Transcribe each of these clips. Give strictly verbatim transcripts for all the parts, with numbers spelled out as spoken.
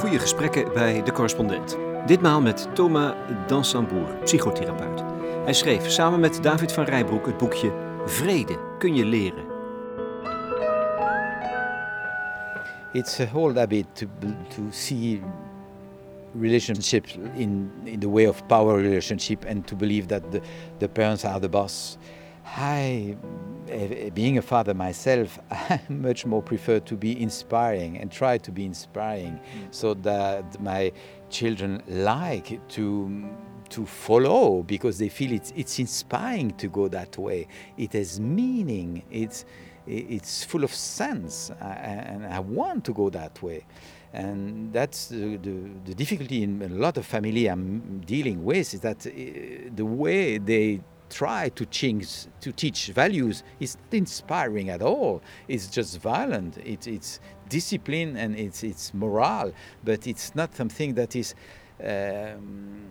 Goede gesprekken bij De Correspondent. Ditmaal met Thomas Dansembourg, psychotherapeut. Hij schreef samen met David van Rijbroek het boekje Vrede kun je leren. It's a whole habit to to see relationships in in the way of power relationship and to believe that the the parents are the boss. I, being a father myself, I much more prefer to be inspiring and try to be inspiring, so that my children like to to follow because they feel it's it's inspiring to go that way. It has meaning. It's it's full of sense, and I want to go that way. And that's the, the, the difficulty in a lot of family I'm dealing with, is that the way they try to change, to teach values is not inspiring at all. It's just violent. It's, it's discipline and it's, it's morale, but it's not something that is um,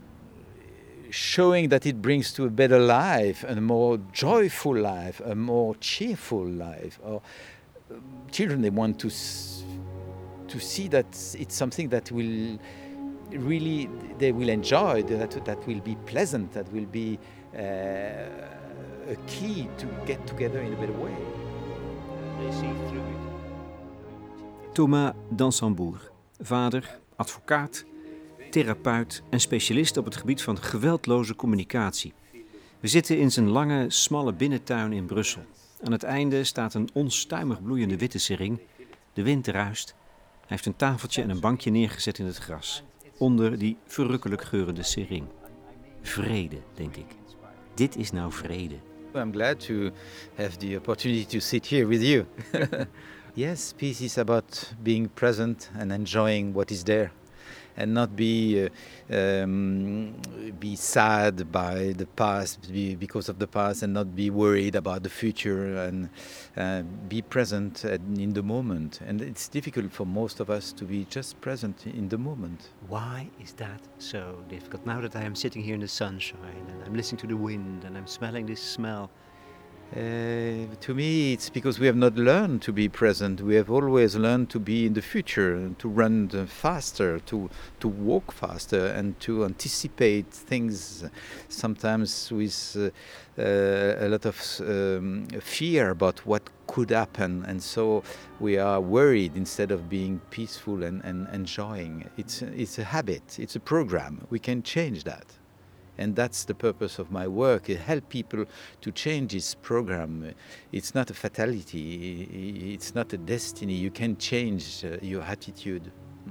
showing that it brings to a better life, a more joyful life, a more cheerful life. Or um, children, they want to to see that it's something that will really they will enjoy, that that will be pleasant, that will be uh, a key to get together in a better way. They see through it. Thomas Dansembourg, vader, advocaat, therapeut en specialist op het gebied van geweldloze communicatie. We zitten in zijn lange, smalle binnentuin in Brussel. Aan het einde staat een onstuimig bloeiende witte sering. De wind ruist. Hij heeft een tafeltje en een bankje neergezet in het gras, onder die verrukkelijk geurende sering. Vrede, denk ik. Dit is nou vrede. I'm glad to have the opportunity to sit here with you. Yes, peace is about being present and enjoying what is there, and not be uh, um, be sad by the past, be, because of the past, and not be worried about the future, and uh, be present in the moment. And it's difficult for most of us to be just present in the moment. Why is that so difficult? Now that I am sitting here in the sunshine and I'm listening to the wind and I'm smelling this smell. Uh, to me, it's because we have not learned to be present. We have always learned to be in the future, to run faster, to to walk faster, and to anticipate things. Sometimes with uh, uh, a lot of um, fear about what could happen, and so we are worried instead of being peaceful and, and enjoying. It's it's a habit. It's a program. We can change that. And that's the purpose of my work, is help people to change this program. It's not a fatality, it's not a destiny. You can change uh, your attitude.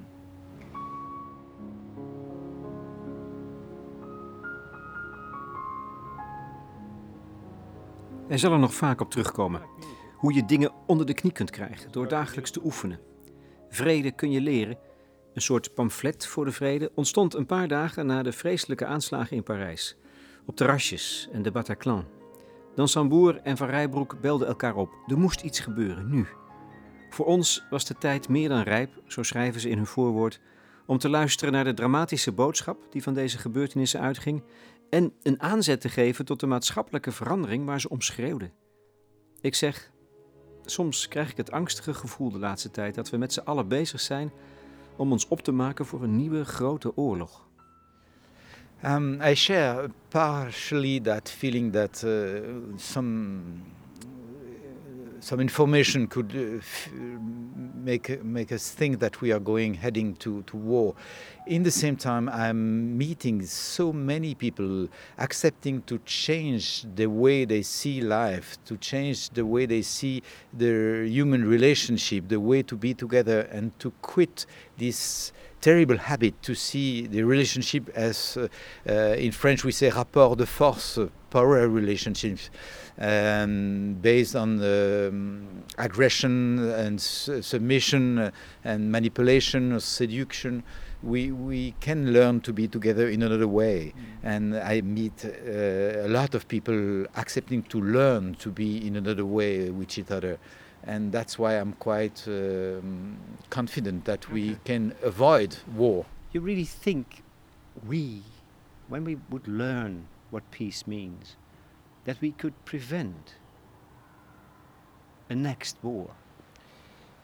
Hij zal er nog vaak op terugkomen. Hoe je dingen onder de knie kunt krijgen door dagelijks te oefenen. Vrede kun je leren. Een soort pamflet voor de vrede ontstond een paar dagen na de vreselijke aanslagen in Parijs. Op terrasjes en de Bataclan. Dansembourg en Van Rijbroek belden elkaar op. Er moest iets gebeuren, nu. Voor ons was de tijd meer dan rijp, zo schrijven ze in hun voorwoord, om te luisteren naar de dramatische boodschap die van deze gebeurtenissen uitging en een aanzet te geven tot de maatschappelijke verandering waar ze om schreeuwden. Ik zeg, soms krijg ik het angstige gevoel de laatste tijd dat we met z'n allen bezig zijn om ons op te maken voor een nieuwe grote oorlog. Um, I share partially that feeling that uh, some some information could uh, f- make make us think that we are going heading to, to war. In the same time, I'm meeting so many people accepting to change the way they see life, to change the way they see their human relationship, the way to be together, and to quit this terrible habit to see the relationship as, uh, uh, in French we say rapport de force, uh, power relationships, um, based on um, aggression and su- submission uh, and manipulation or seduction. We we can learn to be together in another way, mm. And I meet uh, a lot of people accepting to learn to be in another way with each other. And that's why I'm quite um, confident that we can avoid war. You really think we, when we would learn what peace means, that we could prevent a next war?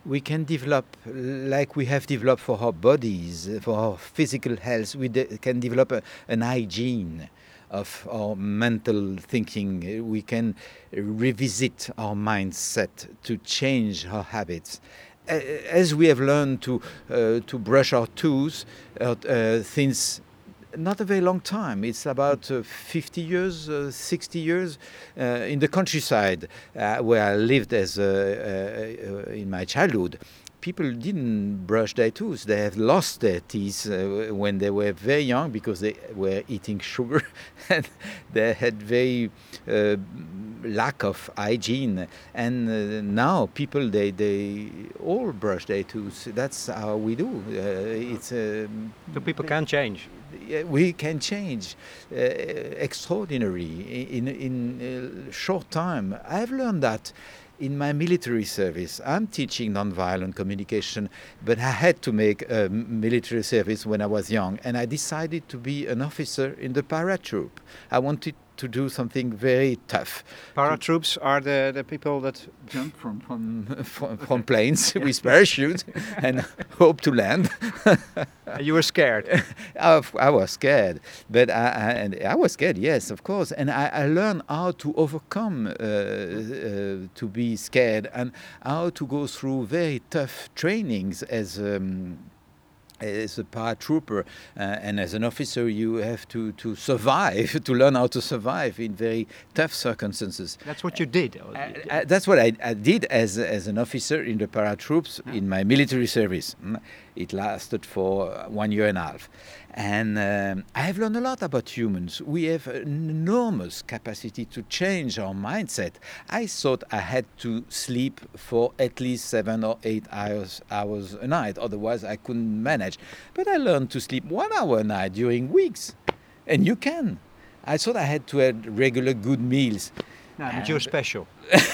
we can develop, like we have developed for our bodies, for our physical health, we de- can develop a, an hygiene of our mental thinking. We can revisit our mindset to change our habits. As we have learned to uh, to brush our teeth uh, uh, since not a very long time. It's about uh, fifty years, uh, sixty years uh, in the countryside uh, where I lived as uh, uh, in my childhood. People didn't brush their teeth. They have lost their teeth uh, when they were very young because they were eating sugar and they had very uh, lack of hygiene. And uh, now people, they, they all brush their teeth. That's how we do. Uh, it's uh, So people can change. We can change uh, extraordinary in in a short time. I've learned that in my military service. I'm teaching nonviolent communication, but I had to make a military service when I was young, and I decided to be an officer in the paratroop. I wanted to do something very tough. Paratroops are the, the people that jump from from, from, from planes with parachutes and hope to land. You were scared. I, I was scared, but I, I, and I was scared, yes, of course. And I, I learned how to overcome, uh, uh, to be scared, and how to go through very tough trainings as. Um, As a paratrooper uh, and as an officer, you have to, to survive, to learn how to survive in very tough circumstances. That's what you did. Uh, uh, that's what I, I did as, as an officer in the paratroops yeah. in my military service. It lasted for one year and a half. And um, I have learned a lot about humans. We have an enormous capacity to change our mindset. I thought I had to sleep for at least seven or eight hours, hours a night. Otherwise, I couldn't manage. But I learned to sleep one hour a night during weeks. And you can. I thought I had to have regular good meals. No, but you're special.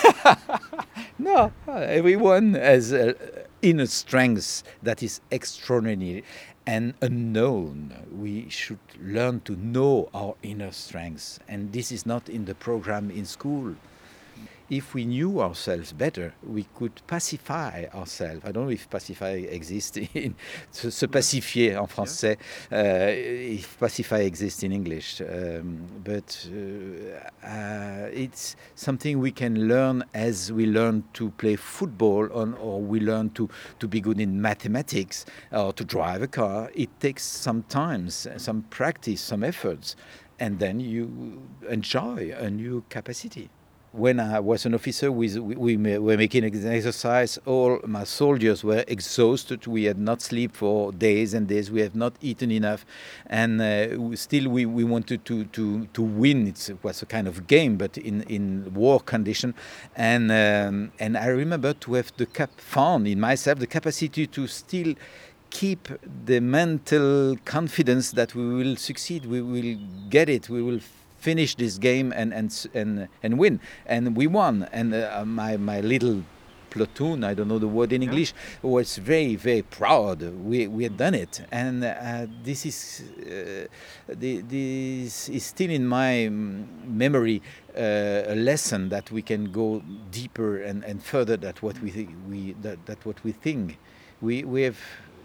No, everyone has uh, inner strength that is extraordinary and unknown. We should learn to know our inner strengths, and this is not in the program in school. If we knew ourselves better, we could pacify ourselves. I don't know if pacify exists in se, se pacifier en français, uh, if pacify exists in English. Um, but uh, uh, it's something we can learn as we learn to play football on, or we learn to, to be good in mathematics or to drive a car. It takes some time, some practice, some efforts, and then you enjoy a new capacity. When I was an officer, we, we were making an exercise. All my soldiers were exhausted. We had not slept for days and days. We have not eaten enough. And uh, still we, we wanted to, to, to win. It's, it was a kind of game, but in, in war condition. And, um, and I remember to have the cap found in myself the capacity to still keep the mental confidence that we will succeed, we will get it, we will finish this game and and and and win, and we won. And uh, my my little platoon, I don't know the word in English, yeah. was very very proud. We we had done it, and uh, this is uh, the, this is still in my memory, uh, a lesson that we can go deeper and, and further. That what we th- we that, that what we think. We we have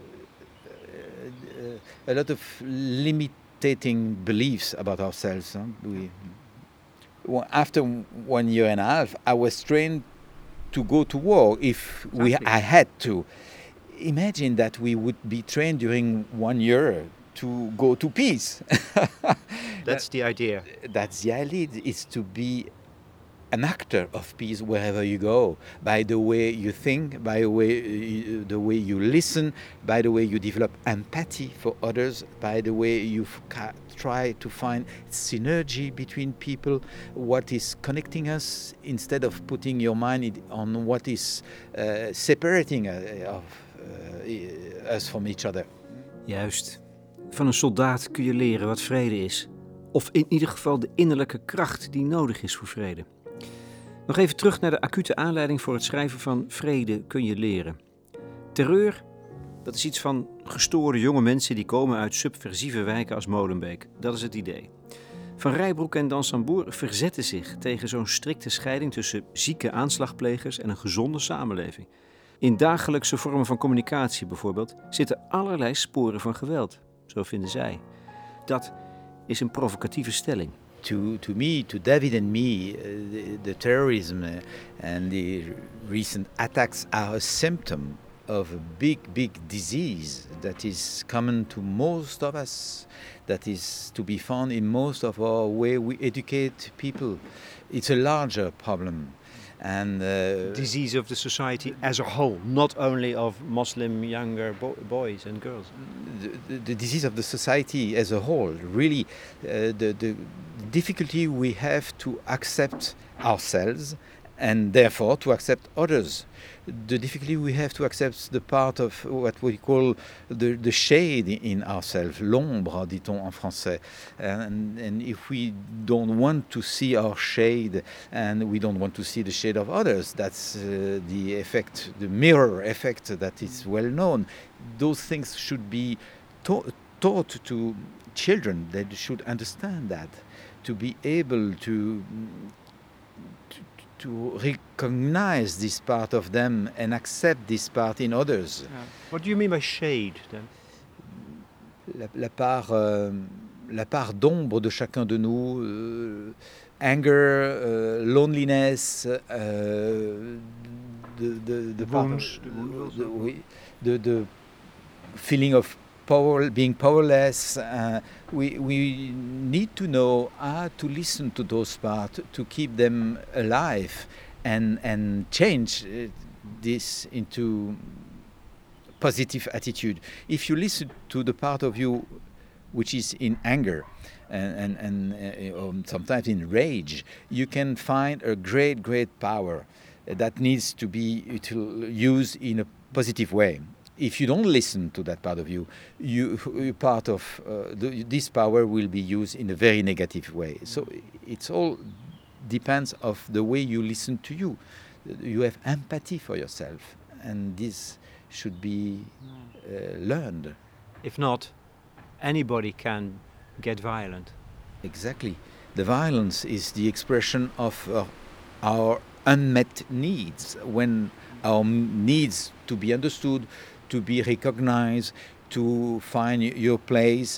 uh, a lot of limit. Beliefs about ourselves. Huh? We, well, after one year and a half, I was trained to go to war if exactly. we I had to. Imagine that we would be trained during one year to go to peace. That's the idea. That's the idea. Is to be an actor of peace wherever you go, by the way you think, by the way you, the way you listen, by the way you develop empathy for others, by the way you f- try to find synergy between people, what is connecting us, instead of putting your mind on what is uh, separating uh, of, uh, us from each other. Juist. Van een soldaat kun je leren wat vrede is. Of in ieder geval de innerlijke kracht die nodig is voor vrede. Nog even terug naar de acute aanleiding voor het schrijven van Vrede kun je leren. Terreur, dat is iets van gestoorde jonge mensen die komen uit subversieve wijken als Molenbeek. Dat is het idee. Van Rijbroek en Dansembourg verzetten zich tegen zo'n strikte scheiding tussen zieke aanslagplegers en een gezonde samenleving. In dagelijkse vormen van communicatie bijvoorbeeld zitten allerlei sporen van geweld, zo vinden zij. Dat is een provocatieve stelling. To, to me, to David and me, uh, the, the terrorism uh, and the recent attacks are a symptom of a big, big disease that is common to most of us, that is to be found in most of our way we educate people. It's a larger problem. And uh, disease of the society as a whole, not only of Muslim younger bo- boys and girls. The, the, the disease of the society as a whole, really, uh, the, the difficulty we have to accept ourselves and therefore to accept others. The difficulty we have to accept the part of what we call the, the shade in ourselves, l'ombre, dit-on en français. And, and if we don't want to see our shade and we don't want to see the shade of others, that's uh, the effect, the mirror effect that is well known. Those things should be ta- taught to children. They should understand that, to be able to to recognize this part of them and accept this part in others. Yeah. What do you mean by shade, then? La, la part, euh, la part d'ombre de chacun de nous, euh, anger, euh, loneliness, euh, the, the, the, wounds, part, the, wounds the, oui, the, the feeling of power, being powerless. Uh, we, we need to know how to listen to those parts, to keep them alive and, and change uh, this into positive attitude. If you listen to the part of you which is in anger and, and, and uh, um, sometimes in rage, you can find a great, great power that needs to be used in a positive way. If you don't listen to that part of you, you part of uh, the, this power will be used in a very negative way. So it's all depends of the way you listen to you. You have empathy for yourself, and this should be uh, learned. If not, anybody can get violent. Exactly. The violence is the expression of uh, our unmet needs. When our needs to be understood, to be recognized, to find your place,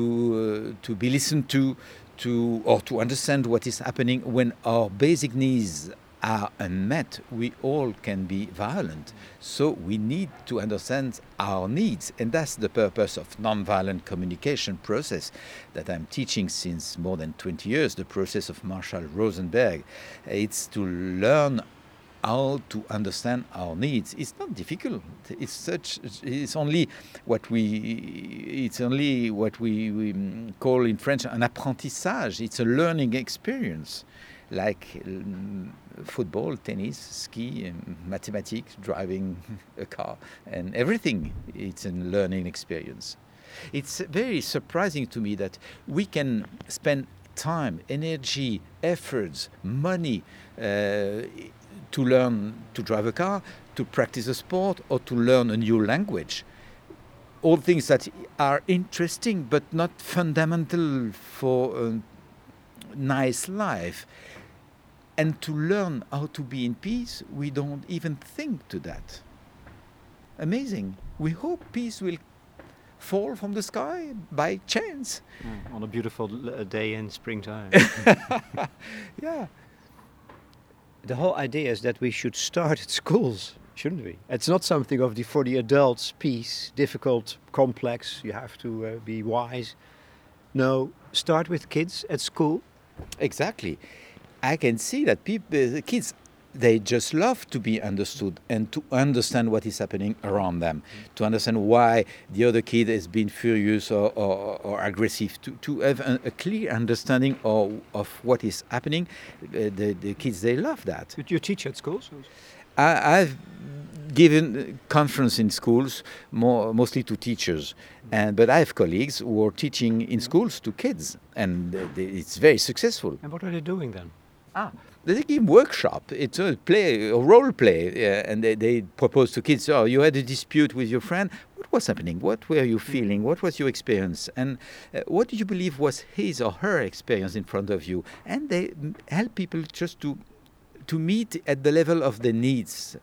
to uh, to be listened to, to or to understand what is happening. When our basic needs are unmet, we all can be violent. So we need to understand our needs, and that's the purpose of nonviolent communication process that I'm teaching since more than twenty years, the process of Marshall Rosenberg. It's to learn how to understand our needs. It's not difficult. It's such. It's only what we. It's only what we, we call in French an apprentissage. It's a learning experience, like um, football, tennis, ski, um, mathematics, driving a car, and everything. It's a learning experience. It's very surprising to me that we can spend time, energy, efforts, money. Uh, to learn to drive a car, to practice a sport, or to learn a new language. All things that are interesting but not fundamental for a nice life. And to learn how to be in peace, we don't even think to that. Amazing. We hope peace will fall from the sky by chance. Mm, on a beautiful day in springtime. Yeah. The whole idea is that we should start at schools, shouldn't we? It's not something of the for the adults peace, difficult, complex, you have to uh, be wise. No, start with kids at school. Exactly. I can see that people, the kids, they just love to be understood and to understand what is happening around them, mm-hmm. to understand why the other kid has been furious or, or, or aggressive, to, to have a, a clear understanding of, of what is happening. Uh, the, the kids, they love that. Did you teach at schools? I, I've given conference in schools, more, mostly to teachers, and but I have colleagues who are teaching in schools to kids, and they, it's very successful. And what are they doing then? Ah, they give workshop. It's a play, a role play, uh, and they, they propose to kids. Oh, you had a dispute with your friend. What was happening? What were you feeling? What was your experience? And uh, what do you believe was his or her experience in front of you? And they help people just to to meet at the level of their needs.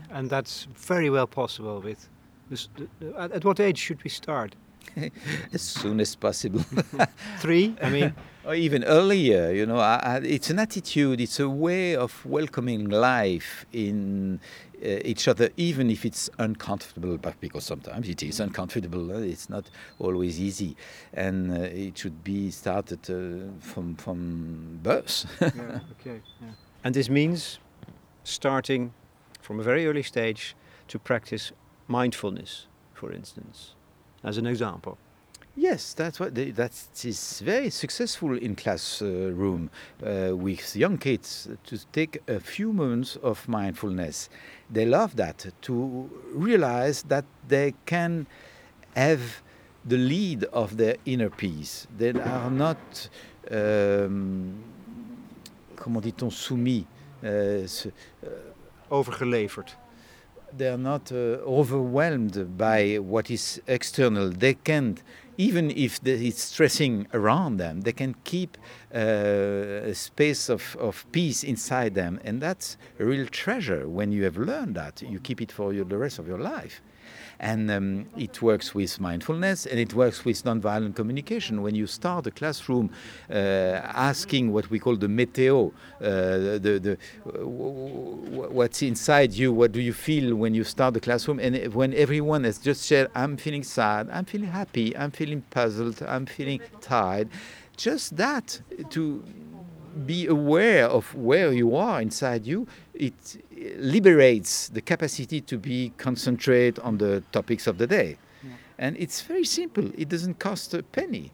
And that's very well possible with this, at, at what age should we start? As soon as possible. Three, I mean. Or even earlier, you know, I, I, it's an attitude, it's a way of welcoming life in uh, each other, even if it's uncomfortable, but because sometimes it is uncomfortable, uh, it's not always easy. And uh, it should be started uh, from, from birth. Yeah, okay. Yeah. And this means starting from a very early stage to practice mindfulness, for instance, as an example. Yes, that's what they, that is very successful in classroom uh, with young kids to take a few moments of mindfulness. They love that, to realize that they can have the lead of their inner peace. They are not, um, comment dit-on, soumis, uh, overgeleverd. They are not uh, overwhelmed by what is external. They can, even if it's stressing around them, they can keep uh, a space of, of peace inside them. And that's a real treasure. When you have learned that, you keep it for your, the rest of your life. And um, it works with mindfulness, and it works with nonviolent communication. When you start a classroom uh, asking what we call the meteo, uh, the, the, uh, what's inside you, what do you feel when you start the classroom, and when everyone has just said, I'm feeling sad, I'm feeling happy, I'm feeling puzzled, I'm feeling tired, just that, to be aware of where you are inside you, it liberates the capacity to be concentrate on the topics of the day. Yeah. And it's very simple. It doesn't cost a penny.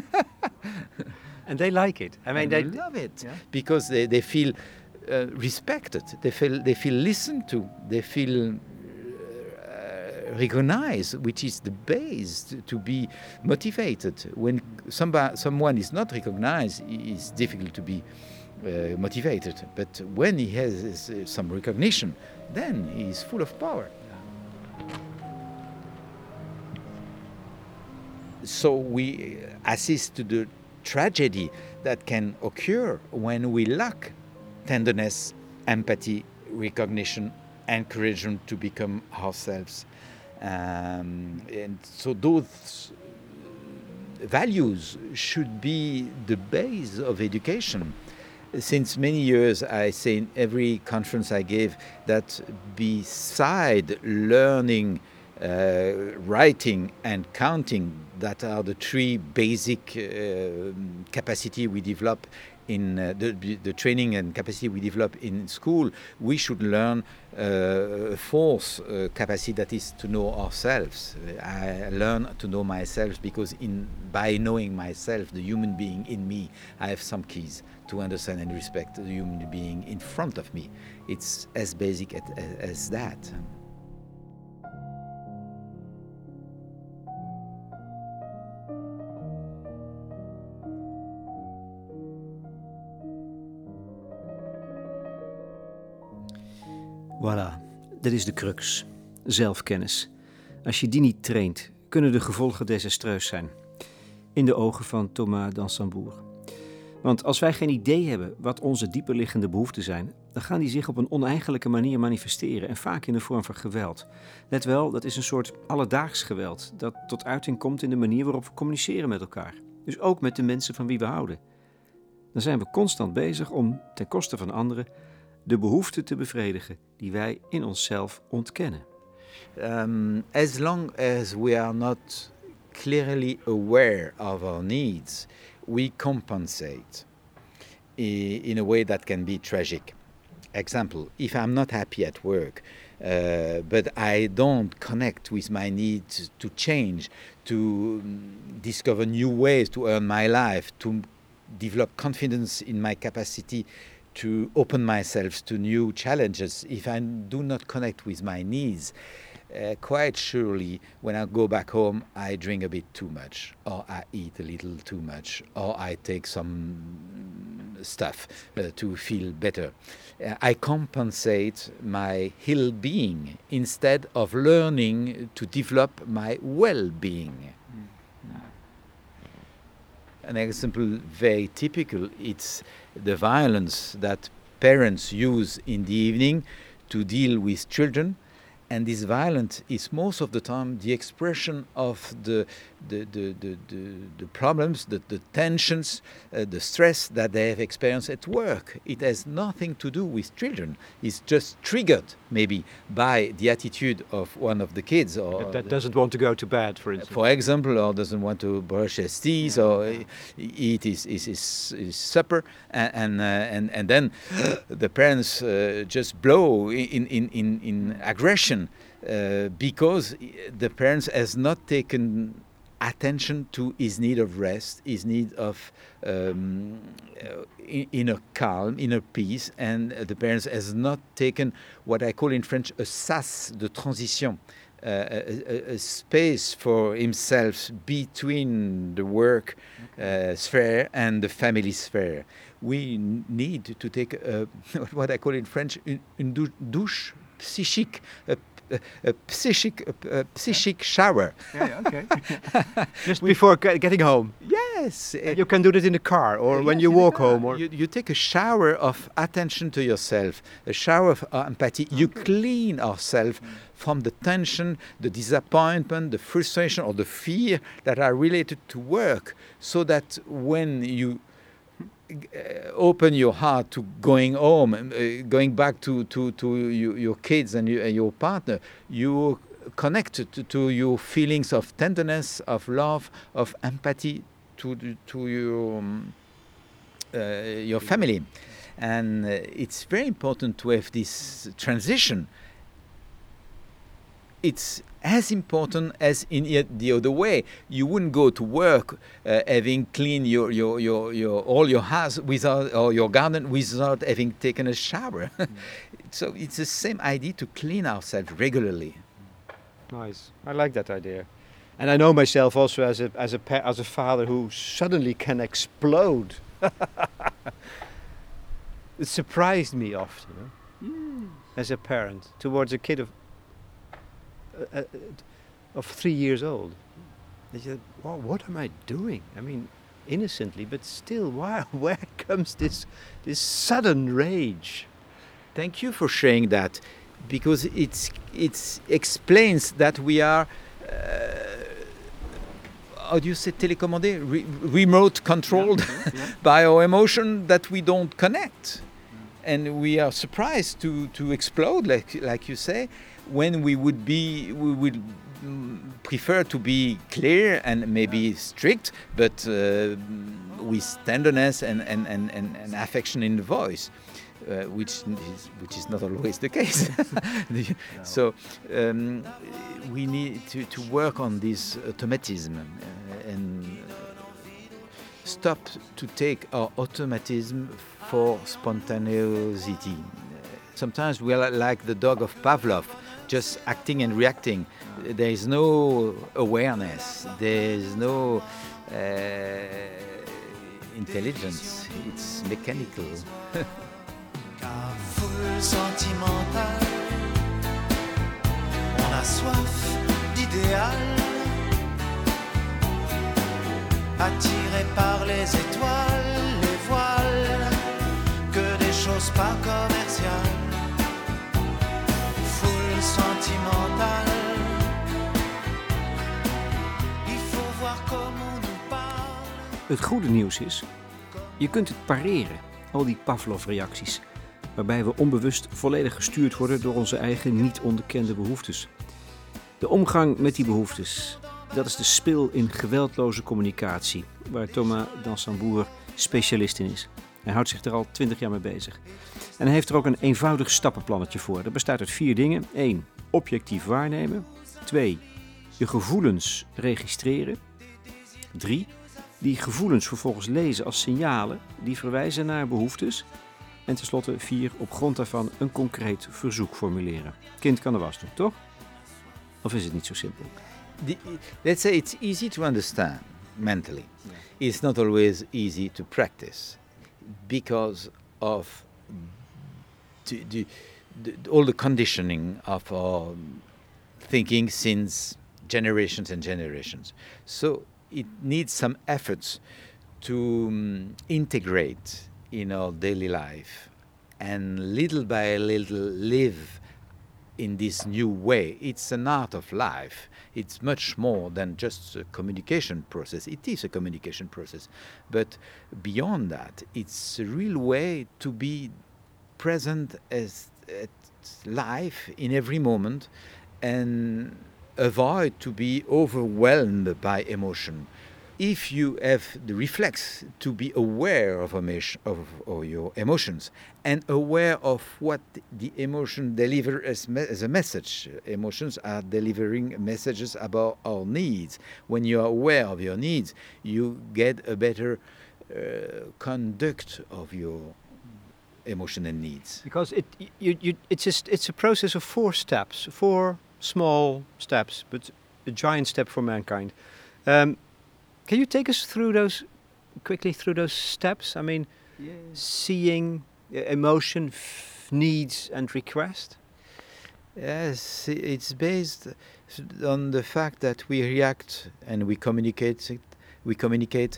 And they like it. I mean, and they, they love it, yeah. Because they, they feel uh, respected. They feel they feel listened to. They feel recognized, which is the base to, to be motivated. When somebody, someone is not recognized, it's difficult to be uh, motivated. But when he has uh, some recognition, then he is full of power. So we assist to the tragedy that can occur when we lack tenderness, empathy, recognition, encouragement to become ourselves. Um, and so those values should be the base of education. Since many years, I say in every conference I gave that beside learning, uh, writing and counting, that are the three basic uh, capacity we develop in uh, the, the training and capacity we develop in school, we should learn uh, a fourth uh, capacity, that is to know ourselves. I learn to know myself because in by knowing myself, the human being in me, I have some keys to understand and respect the human being in front of me. It's as basic as, as that. Voilà, dat is de crux. Zelfkennis. Als je die niet traint, kunnen de gevolgen desastreus zijn. In de ogen van Thomas d'Ansembourg. Want als wij geen idee hebben wat onze dieperliggende behoeften zijn, dan gaan die zich op een oneigenlijke manier manifesteren en vaak in de vorm van geweld. Let wel, dat is een soort alledaags geweld dat tot uiting komt in de manier waarop we communiceren met elkaar. Dus ook met de mensen van wie we houden. Dan zijn we constant bezig om, ten koste van anderen, de behoeften te bevredigen die wij in onszelf ontkennen. Um, as long as we are not clearly aware of our needs, we compensate in a way that can be tragic. Example, if I'm not happy at work, uh, but I don't connect with my need to change, to discover new ways to earn my life, to develop confidence in my capacity to open myself to new challenges, if I do not connect with my needs, uh, quite surely when I go back home, I drink a bit too much, or I eat a little too much, or I take some stuff uh, to feel better. Uh, I compensate my ill-being instead of learning to develop my well-being. An example very typical, it's the violence that parents use in the evening to deal with children. And this violence is most of the time the expression of the the the the, the, the problems, the, the tensions, uh, the stress that they have experienced at work. It has nothing to do with children. It's just triggered maybe by the attitude of one of the kids, or That, that doesn't want to go to bed, for instance. for example, or doesn't want to brush his teeth or uh, eat his, his, his, his supper, and and, uh, and and then the parents uh, just blow in in in, in aggression uh, because the parents has not taken attention to his need of rest, his need of um, uh, inner calm, inner peace, and the parents has not taken what I call in French a sas de transition. Uh, a, a, a space for himself between the work uh, sphere and the family sphere. We n- need to take a, what I call in French une, une dou- douche psychique, a, a, a psychic, a, a psychic shower. Yeah, yeah, okay. Just before ge- getting home. Yes. And you can do that in the car or Uh, when yes, you in the walk car. home. Or You, you take a shower of attention to yourself, a shower of uh, empathy. You clean ourselves from the tension, the disappointment, the frustration, or the fear that are related to work, so that when you uh, open your heart to going home, uh, going back to, to, to you, your kids and, you, and your partner, you connect to, to your feelings of tenderness, of love, of empathy to, to your, um, uh, your family. And uh, it's very important to have this transition. It's as important as in the other way. You wouldn't go to work uh, having cleaned your, your, your, your, all your house without, or your garden without having taken a shower. Mm. So it's the same idea to clean ourselves regularly. nice. I like that idea. And I know myself also as a as a pa- as a father who suddenly can explode. It surprised me often, you know, mm. as a parent towards a kid of uh, uh, of three years old. They said, well, "What am I doing?" I mean, innocently, but still, why? Where comes this this sudden rage? Thank you for sharing that, because it's it explains that we are. Uh, how do you say télécommandé? Re- remote controlled yeah, yeah. by our emotion that we don't connect. And we are surprised to, to explode, like like you say, when we would be we would prefer to be clear and maybe strict, but uh, with tenderness and, and, and, and, and affection in the voice, uh, which is which is not always the case. no. So um, we need to, to work on this automatism uh, and stop to take our automatism for spontaneity. Sometimes we are like the dog of Pavlov, just acting and reacting. There is no awareness, there is no uh, intelligence, it's mechanical. Car foule sentimentale, on a soif d'idéal, attiré par les étoiles, les voiles, que des choses pas commerciales. Foule sentimentale, il faut voir comment on nous parle. Het goede nieuws is, je kunt het pareren, al die Pavlov-reacties, waarbij we onbewust volledig gestuurd worden door onze eigen niet onderkende behoeftes. De omgang met die behoeftes, dat is de spil in geweldloze communicatie, waar Thomas Dansembourg specialist in is. Hij houdt zich er al twintig jaar mee bezig. En hij heeft er ook een eenvoudig stappenplannetje voor. Dat bestaat uit vier dingen. één. Objectief waarnemen. twee. Je gevoelens registreren. drie. Die gevoelens vervolgens lezen als signalen die verwijzen naar behoeftes. En tenslotte vier. Op grond daarvan een concreet verzoek formuleren. Kind kan de was doen, toch? Of is het niet zo simpel? The, let's say it's easy to understand mentally. Yeah. It's not always easy to practice because of the, the, the, all the conditioning of our thinking since generations and generations. So it needs some efforts to um, integrate in our daily life and little by little live in this new way. It's an art of life. It's much more than just a communication process. It is a communication process. But beyond that, it's a real way to be present as at life in every moment and avoid to be overwhelmed by emotion. If you have the reflex to be aware of, emotion, of, of your emotions and aware of what the emotion delivers as, me- as a message, emotions are delivering messages about our needs. When you are aware of your needs, you get a better uh, conduct of your emotion and needs. Because it, you, you, it's just it's a process of four steps, four small steps, but a giant step for mankind. Um, Can you take us through those, quickly through those steps? I mean, yeah. seeing uh, emotion, f- needs and request? Yes, it's based on the fact that we react and we communicate, we communicate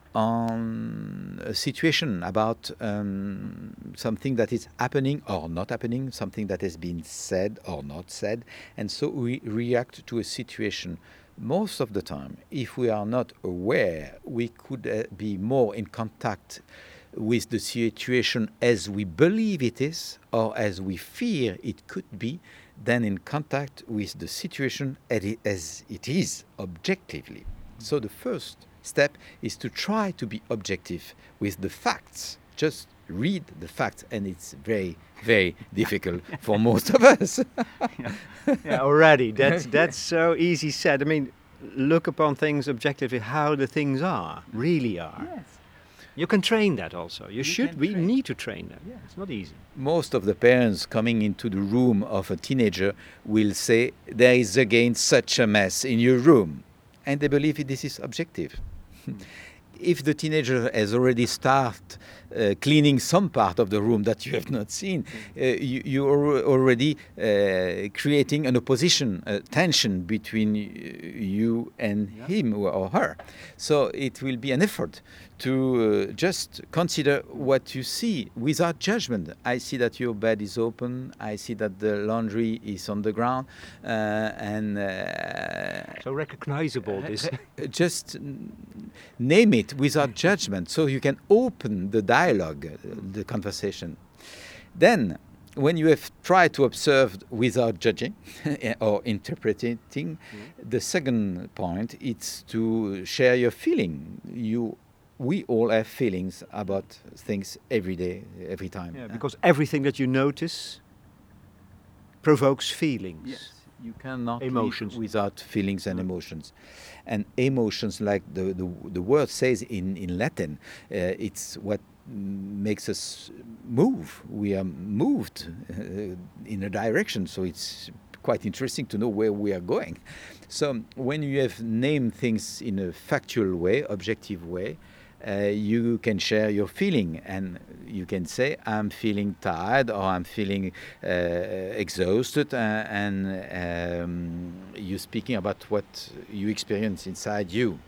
on a situation about um, something that is happening or not happening, something that has been said or not said, and so we react to a situation. Most of the time, if we are not aware, we could uh, be more in contact with the situation as we believe it is or as we fear it could be than in contact with the situation as it is objectively. So the first step is to try to be objective with the facts. Just read the facts, and it's very, very difficult for most of us. yeah. yeah, already. That's that's so easy said. I mean, look upon things objectively, how the things are, really are. Yes. You can train that also. You, you should. We train. need to train that. Yeah. It's not easy. Most of the parents coming into the room of a teenager will say, there is again such a mess in your room. And they believe this is objective. Mm. If the teenager has already started uh, cleaning some part of the room that you have not seen, uh, you, you are already uh, creating an opposition, a tension between you and yeah. him or her. So it will be an effort to uh, just consider what you see without judgment. I see that your bed is open. I see that the laundry is on the ground, uh, and uh, so recognizable. This just name it without judgment, so you can open the dialogue, uh, the conversation. Then, when you have tried to observe without judging or interpreting, mm. the second point is to share your feeling. You We all have feelings about things every day, every time. Yeah, because uh, everything that you notice provokes feelings. Yes. You cannot emotions live without feelings and emotions. And emotions, like the, the, the word says in, in Latin, uh, it's what makes us move. We are moved uh, in a direction, so it's quite interesting to know where we are going. So when you have named things in a factual way, objective way, Uh, you can share your feeling, and you can say, I'm feeling tired, or I'm feeling uh, exhausted, uh, and um, you're speaking about what you experience inside you.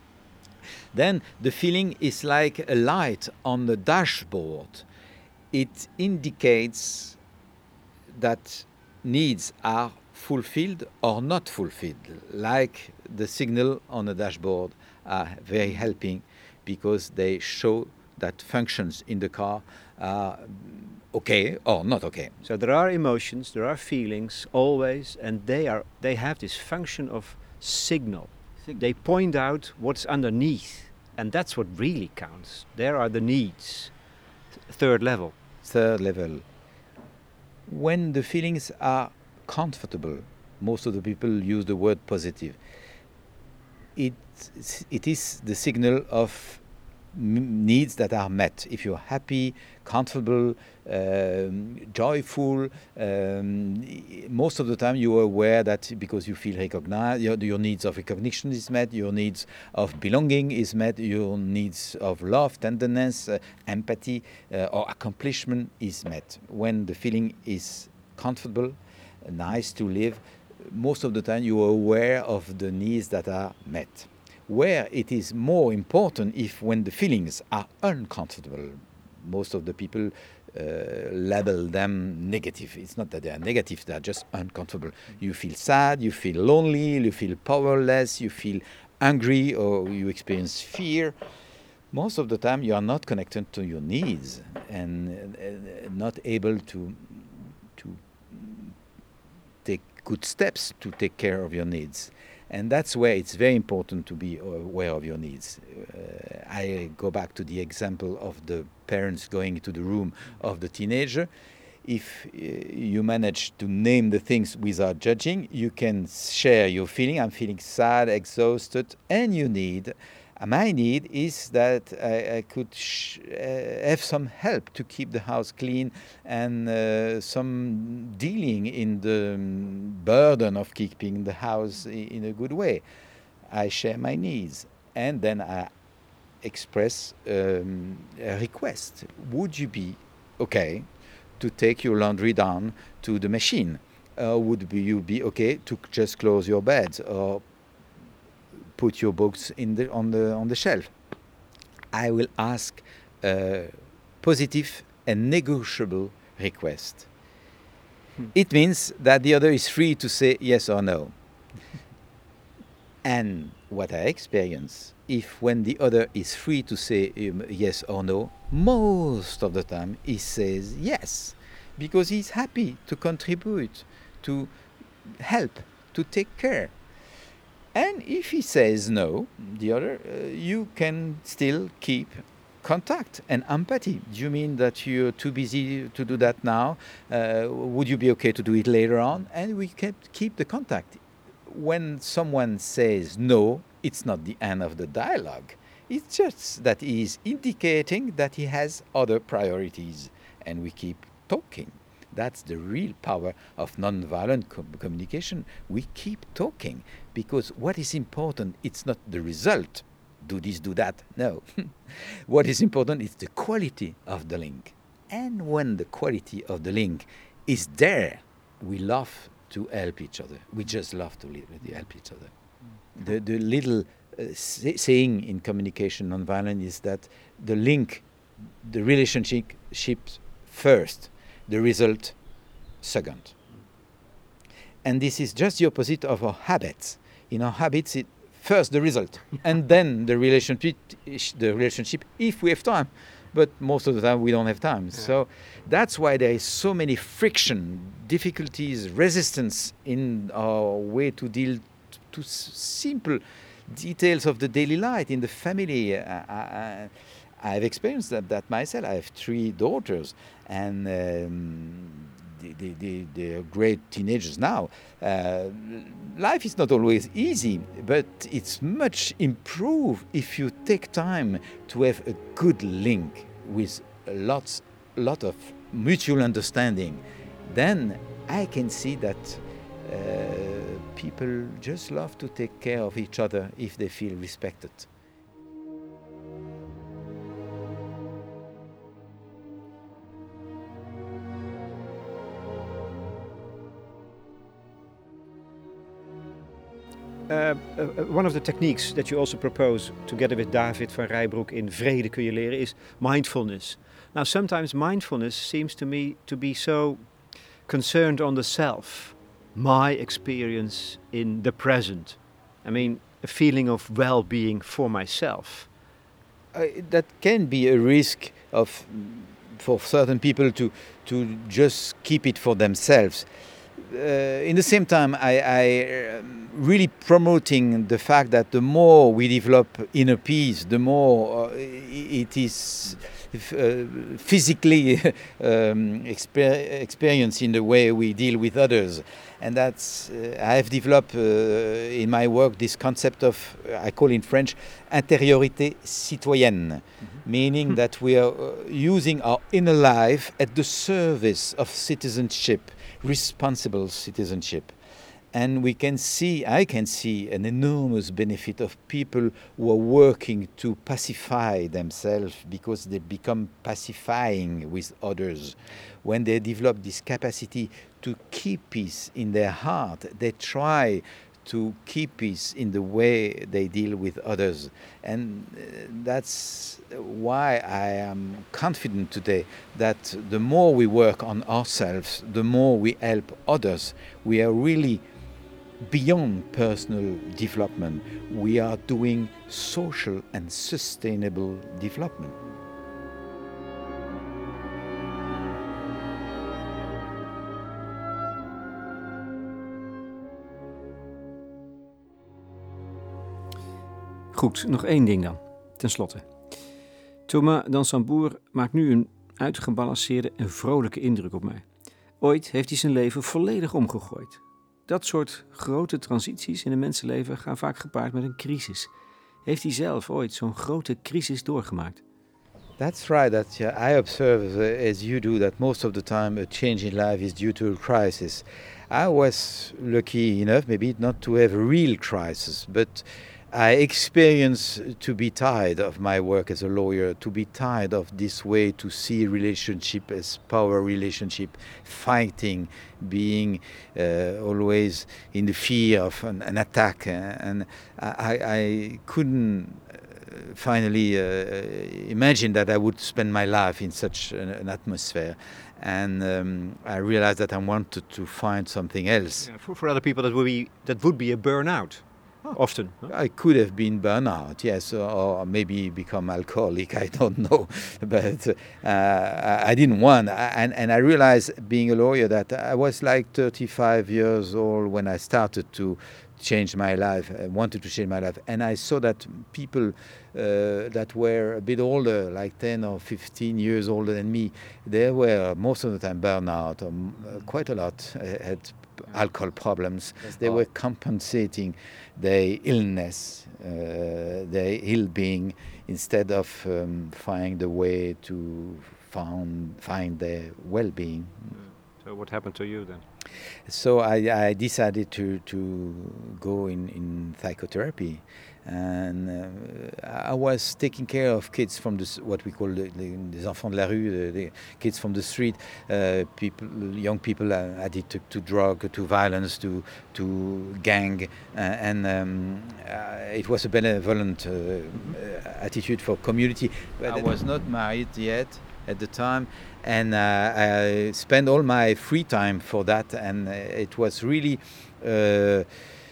Then the feeling is like a light on the dashboard. It indicates that needs are fulfilled or not fulfilled, like the signal on the dashboard are very helping, because they show that functions in the car are okay or not okay. So there are emotions, there are feelings always, and they are they have this function of signal. signal. They point out what's underneath, and that's what really counts. There are the needs. Th- third level. Third level. When the feelings are comfortable, most of the people use the word positive. It it is the signal of m- needs that are met. If you're happy, comfortable, um, joyful, um, most of the time you are aware that because you feel recognized, your, your needs of recognition is met, your needs of belonging is met, your needs of love, tenderness, uh, empathy, uh, or accomplishment is met. When the feeling is comfortable, uh, nice to live, most of the time you are aware of the needs that are met. Where it is more important if when the feelings are uncomfortable. Most of the people uh, label them negative. It's not that they are negative, they are just uncomfortable. You feel sad, you feel lonely, you feel powerless, you feel angry, or you experience fear. Most of the time you are not connected to your needs and uh, not able to to take good steps to take care of your needs. And that's where it's very important to be aware of your needs. Uh, I go back to the example of the parents going to the room of the teenager. If uh, you manage to name the things without judging, you can share your feeling. I'm feeling sad, exhausted, and you need. Uh, my need is that I, I could sh- uh, have some help to keep the house clean and uh, some dealing in the um, burden of keeping the house I- in a good way. I share my needs, and then I express um, a request. Would you be okay to take your laundry down to the machine? Uh, would be, you be okay to just close your beds or put your books in the, on the on the shelf? I will ask a positive and negotiable request. Hmm. It means that the other is free to say yes or no. And what I experience, if when the other is free to say um, yes or no, most of the time he says yes, because he's happy to contribute, to help, to take care. And if he says no, the other, uh, you can still keep contact and empathy. Do you mean that you're too busy to do that now? Uh, would you be okay to do it later on? And we can keep the contact. When someone says no, it's not the end of the dialogue. It's just that he is indicating that he has other priorities, and we keep talking. That's the real power of nonviolent com- communication. We keep talking because what is important, it's not the result. Do this, do that. No. What is important is the quality of the link. And when the quality of the link is there, we love to help each other. We just love to help each other. The, the little uh, say- saying in communication nonviolent is that the link, the relationship first, the result second. And this is just the opposite of our habits. In our habits, it first the result, and then the relationship, the relationship if we have time. But most of the time we don't have time. Yeah. So that's why there is so many friction, difficulties, resistance in our way to deal t- to s- simple details of the daily life in the family. I, I, I've experienced that, that myself. I have three daughters, and um, they, they, they, they're great teenagers now. Uh, life is not always easy, but it's much improved if you take time to have a good link with lots, lot of mutual understanding. Then I can see that uh, people just love to take care of each other if they feel respected. Uh, uh, one of the techniques that you also propose together with David van Rijbroek in Vrede kun je leren is mindfulness. Now, sometimes mindfulness seems to me to be so concerned on the self, my experience in the present. I mean, a feeling of well-being for myself. Uh, that can be a risk of for certain people to to just keep it for themselves. Uh, in the same time, I, I um, really promoting the fact that the more we develop inner peace, the more uh, it is uh, physically um, exper- experienced in the way we deal with others. And that's, uh, I have developed uh, in my work this concept of, uh, I call in French, intériorité citoyenne, mm-hmm. meaning that we are uh, using our inner life at the service of citizenship, responsible citizenship. And we can see, I can see an enormous benefit of people who are working to pacify themselves because they become pacifying with others. When they develop this capacity to keep peace in their heart, they try to keep peace in the way they deal with others. And uh, that's why I am confident today that the more we work on ourselves, the more we help others. We are really beyond personal development. We are doing social and sustainable development. Goed, nog één ding dan, ten slotte. Thomas Dansembourg maakt nu een uitgebalanceerde en vrolijke indruk op mij. Ooit heeft hij zijn leven volledig omgegooid. Dat soort grote transities in een mensenleven gaan vaak gepaard met een crisis. Heeft hij zelf ooit zo'n grote crisis doorgemaakt? That's right. That uh, I observe, uh, as you do, that most of the time a change in life is due to a crisis. I was lucky enough, maybe not to have a real crisis, but I experienced to be tired of my work as a lawyer, to be tired of this way to see relationship as power relationship, fighting, being uh, always in the fear of an, an attack, uh, and I, I couldn't finally uh, imagine that I would spend my life in such an, an atmosphere. And um, I realized that I wanted to find something else. Yeah, for, for other people, that would be that would be a burnout. Oh. Often. Huh? I could have been burnout, yes, or, or maybe become alcoholic, I don't know. But uh, I didn't want, and, and I realized being a lawyer that I was like thirty-five years old when I started to change my life, I wanted to change my life. And I saw that people uh, that were a bit older, like ten or fifteen years older than me, they were most of the time burnout, or uh, quite a lot uh, had alcohol problems. They were compensating their illness, uh, their ill-being, instead of um, find the way to found, find their well-being. So what happened to you then? So I, I decided to, to go in, in psychotherapy, and uh, I was taking care of kids from the, what we call the, the, les enfants de la rue, the, the kids from the street, uh, people, young people uh, addicted to drug, to violence, to to gang, uh, and um, uh, it was a benevolent uh, attitude for community. But I was not married yet at the time, and uh, I spent all my free time for that, and uh, it was really uh,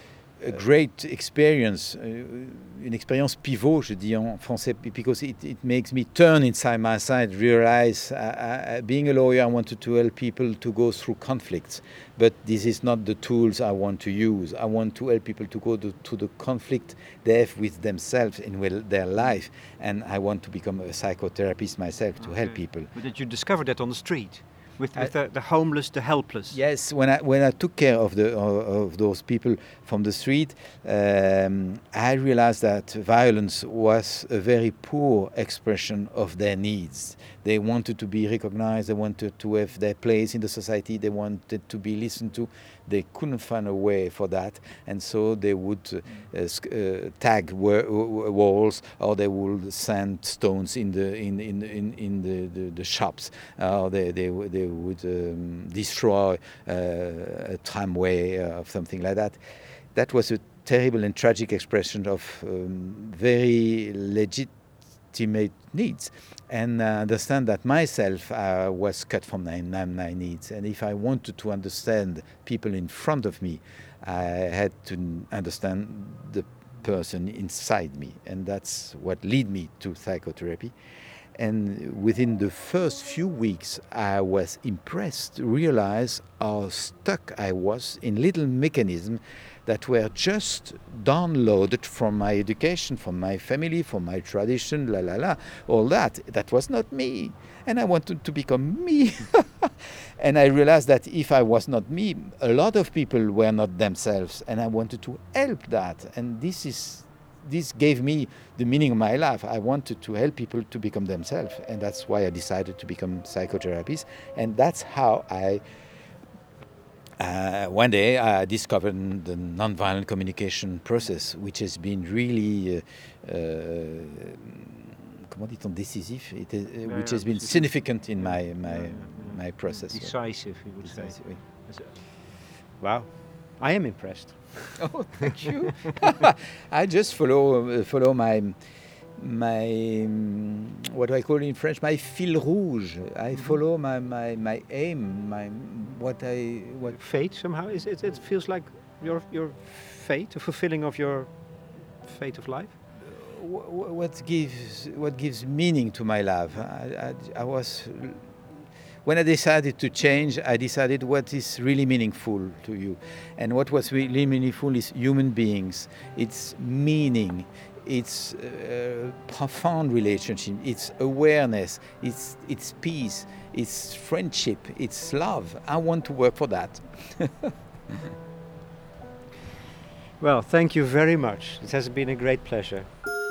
a great experience, uh, une expérience pivot, je dis en français, because it, it makes me turn inside myself, realize uh, uh, being a lawyer, I wanted to help people to go through conflicts, but this is not the tools I want to use. I want to help people to go to, to the conflict they have with themselves in well, their life, and I want to become a psychotherapist myself to okay. help people. But did you discover that on the street? With, with I, the, the homeless, the helpless. Yes, when I when I took care of the of, of those people from the street, um, I realized that violence was a very poor expression of their needs. They wanted to be recognized. They wanted to have their place in the society. They wanted to be listened to. They couldn't find a way for that, and so they would uh, uh, tag wa- walls, or they would send stones in the in in in, in the, the, the shops, or they they they would um, destroy uh, a tramway or something like that. That was a terrible and tragic expression of um, very legitimate needs, and uh, understand that myself uh, was cut from my, my needs, and if I wanted to understand people in front of me, I had to understand the person inside me, and that's what led me to psychotherapy. And within the first few weeks, I was impressed to realize how stuck I was in little mechanisms that were just downloaded from my education, from my family, from my tradition, la la la, all that. That was not me. And I wanted to become me. And I realized that if I was not me, a lot of people were not themselves, and I wanted to help that. And this is This gave me the meaning of my life. I wanted to help people to become themselves, and that's why I decided to become psychotherapist. And that's how I, uh, one day, I discovered the nonviolent communication process, which has been really, uh, uh, comment dit-on, décisif, it is, uh, which has been significant in my my my process. Decisive, you would Decisive, say. oui. Wow. I am impressed. Oh, thank you. I just follow uh, follow my my um, what do I call in French? My fil rouge. I follow my, my, my aim. My what I what. Fate somehow is it? It feels like your your fate, a fulfilling of your fate of life. wh- What gives what gives meaning to my life? I, I, I was when I decided to change. I decided what is really meaningful to you, and what was really meaningful is human beings. It's meaning. It's uh, profound relationship. It's awareness. It's it's peace. It's friendship. It's love. I want to work for that. Well, thank you very much. It has been a great pleasure.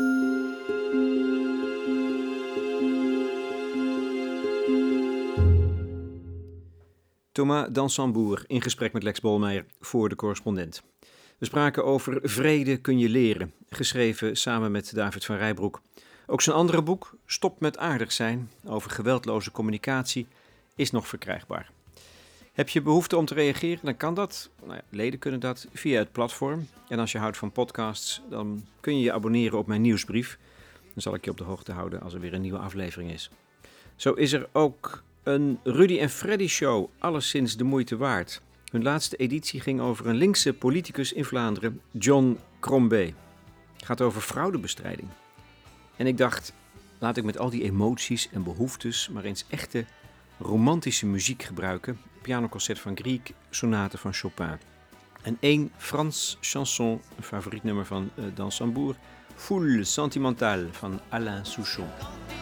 Thomas Dansembourg in gesprek met Lex Bolmeijer voor De Correspondent. We spraken over Vrede kun je leren, geschreven samen met David van Rijbroek. Ook zijn andere boek, Stop met aardig zijn, over geweldloze communicatie, is nog verkrijgbaar. Heb je behoefte om te reageren, dan kan dat. Nou ja, leden kunnen dat via het platform. En als je houdt van podcasts, dan kun je je abonneren op mijn nieuwsbrief. Dan zal ik je op de hoogte houden als er weer een nieuwe aflevering is. Zo is er ook een Rudy en Freddy show, alleszins de moeite waard. Hun laatste editie ging over een linkse politicus in Vlaanderen, John Crombie. Het gaat over fraudebestrijding. En ik dacht, laat ik met al die emoties en behoeftes maar eens echte romantische muziek gebruiken. Pianoconcert van Grieg, sonate van Chopin. En één Frans chanson, een favoriet nummer van uh, Dansembourg, Foule sentimentale van Alain Souchon.